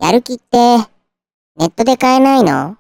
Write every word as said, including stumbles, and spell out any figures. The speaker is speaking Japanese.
やる気って、ネットで買えないの？